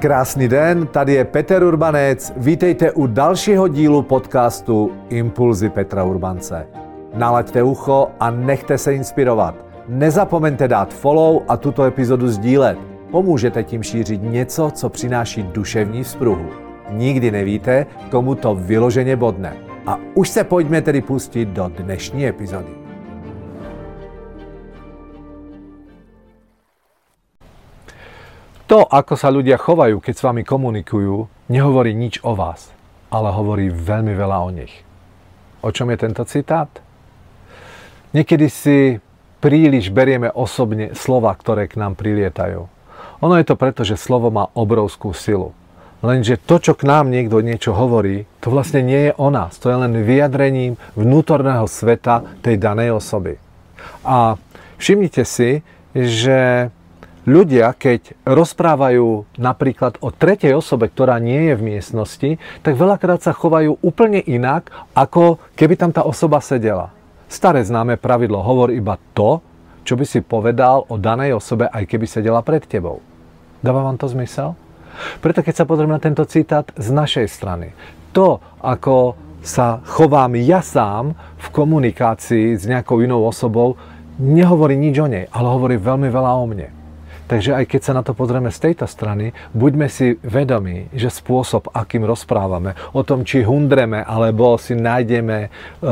Krásný den, tady je Peter Urbanec. Vítejte u dalšího dílu podcastu Impulzy Petra Urbance. Nalaďte ucho a nechte se inspirovat. Nezapomeňte dát follow a tuto epizodu sdílet. Pomůžete tím šířit něco, co přináší duševní vzpruhu. Nikdy nevíte, komu to vyloženě bodne. A už se pojďme tedy pustit do dnešní epizody. To, ako sa ľudia chovajú, keď s vami komunikujú, nehovorí nič o vás, ale hovorí veľmi veľa o nich. O čom je tento citát? Niekedy si príliš berieme osobne slova, ktoré k nám prilietajú. Ono je to preto, že slovo má obrovskú silu. Lenže to, čo k nám niekto niečo hovorí, to vlastne nie je o nás. To je len vyjadrením vnútorného sveta tej danej osoby. A všimnite si, že ľudia, keď rozprávajú napríklad o tretej osobe, ktorá nie je v miestnosti, tak veľakrát sa chovajú úplne inak, ako keby tam tá osoba sedela. Staré známe pravidlo, hovor iba to, čo by si povedal o danej osobe, aj keby sedela pred tebou. Dáva vám to zmysel? Preto keď sa pozrieme na tento citát z našej strany, to, ako sa chovám ja sám v komunikácii s nejakou inou osobou, nehovorí nič o nej, ale hovorí veľmi veľa o mne. Takže aj keď sa na to pozrieme z tejto strany, buďme si vedomí, že spôsob, akým rozprávame, o tom, či hundreme, alebo si nájdeme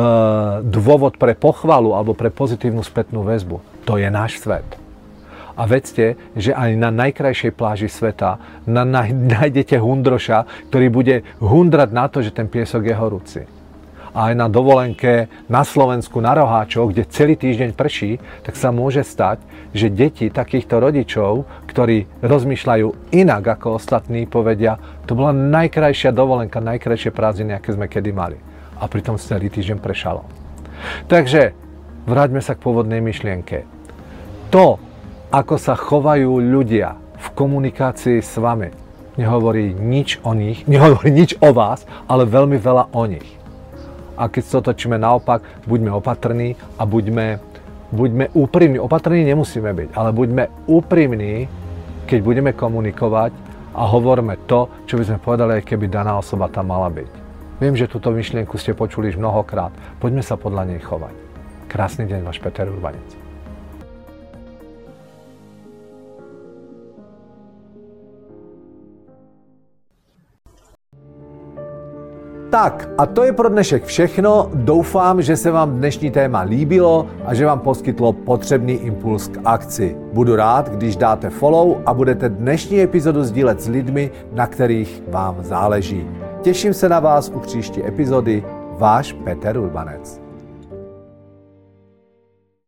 dôvod pre pochvalu alebo pre pozitívnu spätnú väzbu, to je náš svet. A vedzte, že aj na najkrajšej pláži sveta nájdete hundroša, ktorý bude hundrať na to, že ten piesok je horúci. A aj na dovolenke na Slovensku, na Roháčoch, kde celý týždeň prší, tak sa môže stať, že deti takýchto rodičov, ktorí rozmýšľajú inak ako ostatní, povedia, to bola najkrajšia dovolenka, najkrajšie prázdniny, aké sme kedy mali. A pritom celý týždeň pršalo. Takže vráťme sa k pôvodnej myšlienke. To, ako sa chovajú ľudia v komunikácii s vami, nehovorí nič o nich, nehovorí nič o vás, ale veľmi veľa o nich. A keď sa otočíme naopak, buďme opatrní a buďme úprimní. Opatrní nemusíme byť, ale buďme úprimní, keď budeme komunikovať a hovorme to, čo by sme povedali, aj keby daná osoba tam mala byť. Viem, že túto myšlienku ste počuli už mnohokrát. Poďme sa podľa nej chovať. Krásny deň, váš Peter Urbanec. Tak a to je pro dnešek všechno. Doufám, že se vám dnešní téma líbilo a že vám poskytlo potřebný impuls k akci. Budu rád, když dáte follow a budete dnešní epizodu sdílet s lidmi, na kterých vám záleží. Těším se na vás u příští epizody. Váš Peter Urbanec.